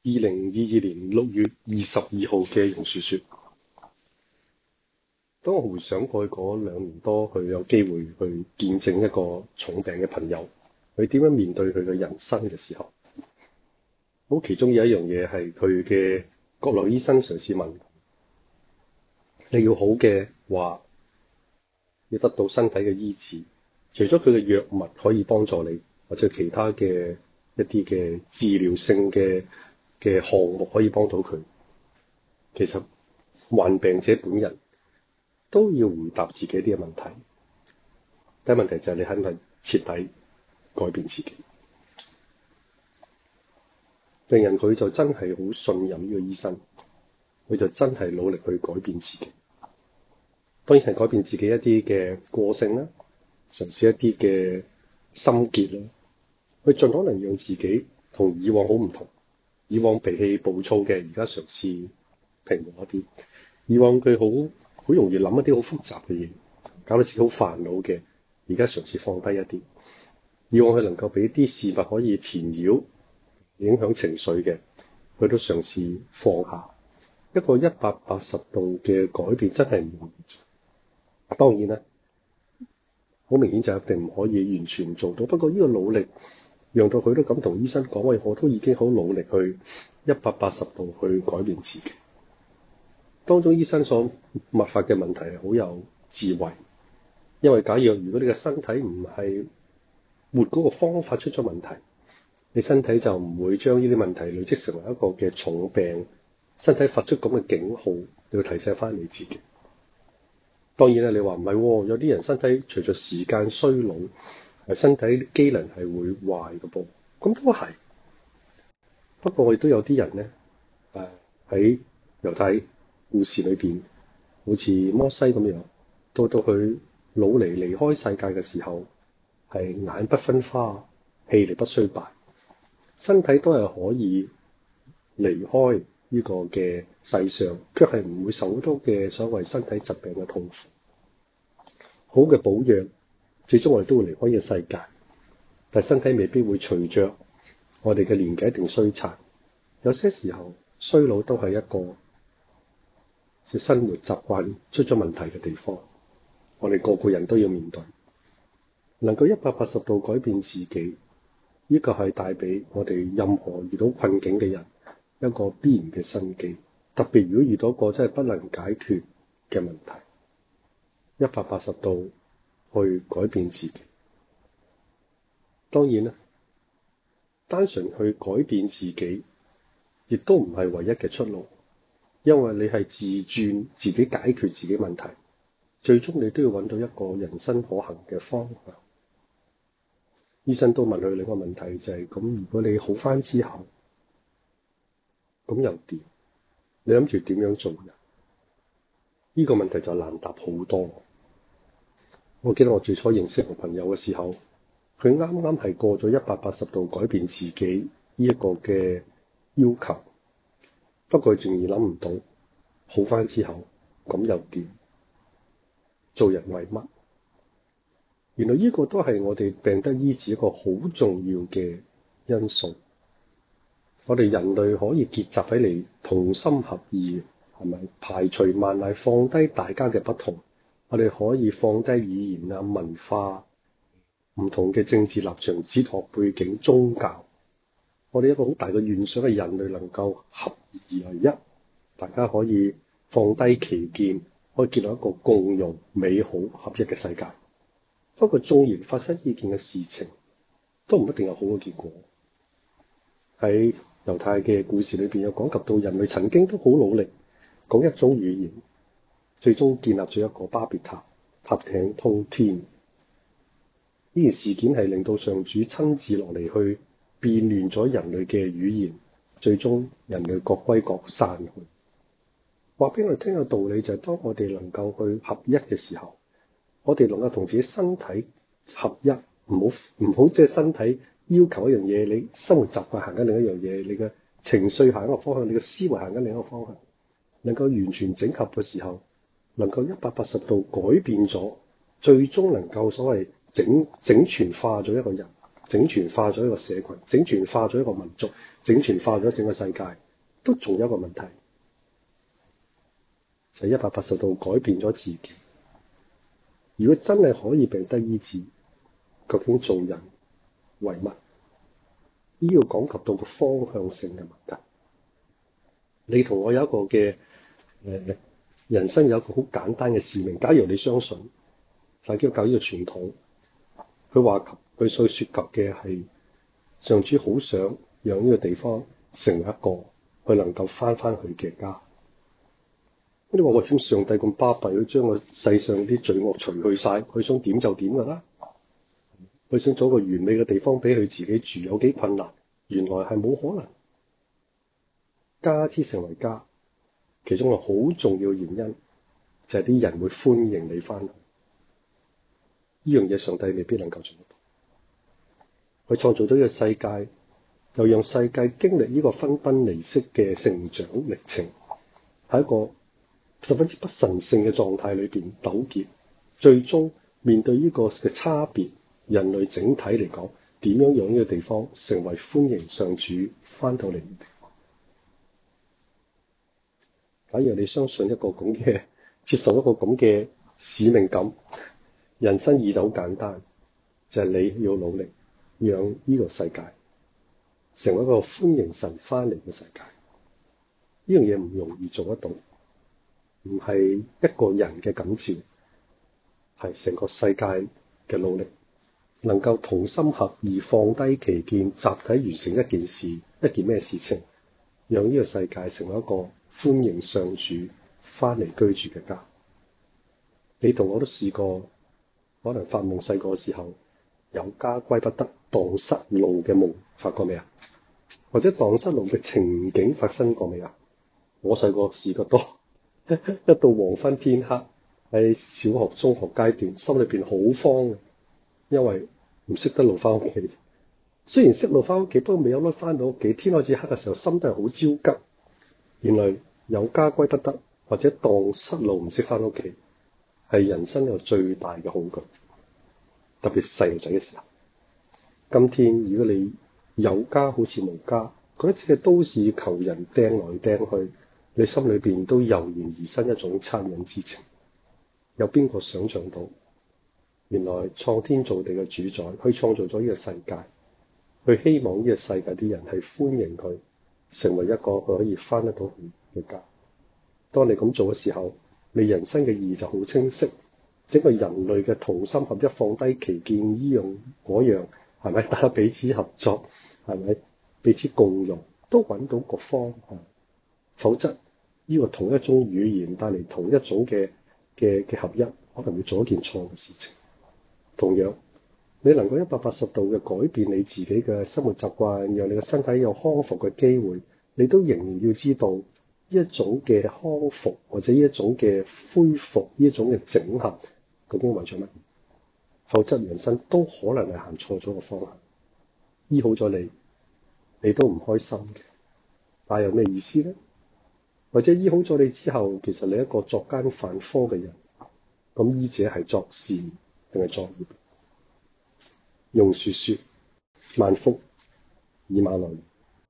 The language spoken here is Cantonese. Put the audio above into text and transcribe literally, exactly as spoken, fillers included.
二零二二年六月二十二號嘅榕樹說，當我回想過去嗰兩年多，佢有機會去見證一個重病嘅朋友，佢點樣面對佢嘅人生嘅時候，好，其中有一樣嘢係佢嘅國內醫生嘗試問，你要好嘅話，要得到身體嘅醫治，除咗佢嘅藥物可以幫助你，或者其他嘅一啲嘅治療性嘅嘅項目可以幫到佢，其實患病者本人都要回答自己啲嘅問題。第一問題就係你肯唔肯徹底改變自己？病人佢就真係好信任呢個醫生，佢就真係努力去改變自己。當然係改變自己一啲嘅個性啦，嘗試一啲嘅心結啦，去盡可能讓自己同以往好唔同。以往脾氣暴躁嘅，而家嘗試平和一啲；以往佢好好容易諗一啲好複雜嘅嘢，搞到自己好煩惱嘅，而家嘗試放低一啲；以往佢能夠俾啲事物可以纏繞、影響情緒嘅，佢都嘗試放下。一個一百八十度嘅改變真係唔容易做。當然啦，好明顯就一定唔可以完全做到。不過呢個努力，讓到佢都咁同醫生講，喂，我都已經好努力去一百八十度去改變自己。當中醫生所默發嘅問題係好有智慧，因為假若如果你嘅身體唔係活嗰個方法出咗問題，你身體就唔會將呢啲問題累積成為一個嘅重病，身體發出咁嘅警號，你要提醒翻你自己。當然啦，你話唔係，有啲人身體隨着時間衰老，係身體機能係會壞嘅噃，咁都係。不過我亦都有啲人咧，誒喺猶太故事裏邊，好似摩西咁樣，到到佢老嚟離開世界嘅時候，係眼不分花，氣力不衰敗，身體都係可以離開呢個嘅世上，卻係唔會受好多嘅所謂身體疾病嘅痛苦。好嘅保養，最終我哋都會離開呢個世界，但係身體未必會隨着我哋嘅年紀一定衰殘。有些時候衰老都係一個即生活習慣出咗問題嘅地方，我哋個個人都要面對。能夠一百八十度改變自己，呢個係帶俾我哋任何遇到困境嘅人一個必然嘅生機。特別如果遇到一個真係不能解決嘅問題，一百八十度去改變自己。當然啦，單純去改變自己亦都唔係唯一嘅出路，因為你係自轉自己解決自己問題，最終你都要揾到一個人生可行嘅方向。醫生都問佢另一個問題，就係咁，如果你好返之後，咁又點？你諗住點樣做人？呢個問題就難答好多。我記得我最初認識我朋友嘅時候，佢啱啱係過咗一百八十度改變自己呢一個嘅要求，不過佢仍然諗唔到好返之後咁又點？做人為乜？原來呢個都係我哋病得醫治一個好重要嘅因素。我哋人類可以結集起嚟，同心合意，係咪？排除萬難，放低大家嘅不同。我哋可以放低語言啊、文化、唔同嘅政治立場、哲學背景、宗教。我哋一個好大嘅願想係人類能夠合而為一，大家可以放低歧見，可以建立一個共融、美好、合一嘅世界。不過縱然發生呢件嘅事情，都唔一定有好嘅結果。喺猶太嘅故事裏邊有講及到人類曾經都好努力講一種語言，最終建立咗一個巴別塔，塔頂通天。呢件事件係令到上主親自落嚟去變亂咗人類嘅語言，最終人類各歸各散去。話俾我哋聽嘅道理就係，當我哋能夠去合一嘅時候，我哋能夠同自己身體合一，唔好唔好即係身體要求一樣嘢，你生活習慣行緊另一樣嘢，你嘅情緒行一個方向，你嘅思維行緊另一個方向，能夠完全整合嘅時候，能夠一百八十度改變咗，最終能夠所謂整整全化咗一個人， 整全化咗一個社群，整全化咗一個民族，整全化咗整個世界，都仲有一個問題，就係一百八十度改變咗自己。如果真係可以病得醫治，究竟做人為乜？呢個講及到個方向性嘅問題。你同我有一個嘅誒、呃、人生有一個好簡單嘅使命。假如你相信大基督教呢個傳統，佢話及佢所說及嘅係上主好想讓呢個地方成為一個佢能夠翻返去嘅家。你話我點上帝咁巴閉，佢將個世上啲罪惡除去晒，佢想點就點㗎啦。佢想做一個完美嘅地方俾佢自己住，有幾困難？原來係冇可能。家之成為家，其中一個好重要嘅原因就係啲人會歡迎你翻去。呢樣嘢上帝未必能夠做得到。佢創造咗呢個世界，又讓世界經歷呢個分崩離析嘅成長歷程，喺一個十分之不神聖嘅狀態裏邊糾結，最終面對呢個嘅差別，人類整體嚟講，點樣讓呢個地方成為歡迎上主翻到嚟嘅地方？假如你相信一個咁嘅，接受一個咁嘅使命感，人生意就好簡單，就係你要努力讓呢個世界成為一個歡迎神翻嚟嘅世界。呢樣嘢唔容易做得到，唔係一個人嘅感召，係成個世界嘅努力，能夠同心合意放低歧見，集體完成一件事，一件咩事情，讓呢個世界成為一個歡迎上主翻嚟居住嘅家。你同我都試過，可能發夢細個時候有家歸不得，蕩失路嘅夢發過未啊？或者蕩失路嘅情景發生過未啊？我細個試過多，一到黃昏天黑，喺小學中學階段，心裏邊好慌嘅，因為唔識得路翻屋企。雖然識路翻屋企，不過未有得翻到屋企，天開始黑嘅時候，心都係好焦急。原來有家歸不得，或者蕩失路唔識翻屋企，係人生有最大嘅恐懼，特別細路仔嘅時候。今天如果你有家好似無家，嗰一次嘅都市求人掟來掟去，你心裏邊都油然而生一種惻隱之情。有邊個想象到，原來創天造地嘅主宰，佢創造咗呢個世界，佢希望呢個世界啲人係歡迎佢，成為一個佢可以翻得到去嘅家。當你咁做嘅時候，你人生嘅意義就好清晰。整個人類嘅同心合一，放低歧見，依樣嗰樣，係咪？大家彼此合作，係咪？彼此共融，都揾到個方向。否則，呢個同一種語言帶嚟同一種嘅嘅嘅合一，可能會做一件錯嘅事情。同樣，你能夠一百八十度嘅改變你自己嘅生活習慣，讓你嘅身體有康復嘅機會，你都仍然要知道一種嘅康復或者一種嘅恢復，呢一種嘅整合，究竟為咗乜？否則人生都可能係行錯咗個方向。醫好咗你，你都唔開心嘅，但係有咩意思咧？或者醫好咗你之後，其實你一個作奸犯科嘅人，咁醫者係作善定係作孽？用說說，萬福以馬內利。